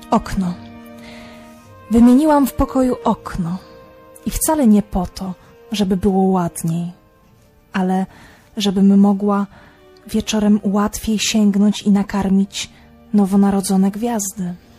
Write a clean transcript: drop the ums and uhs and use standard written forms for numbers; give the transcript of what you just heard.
Okno. Wymieniłam w pokoju okno i wcale nie po to, żeby było ładniej, ale żebym mogła wieczorem łatwiej sięgnąć i nakarmić nowonarodzone gwiazdy.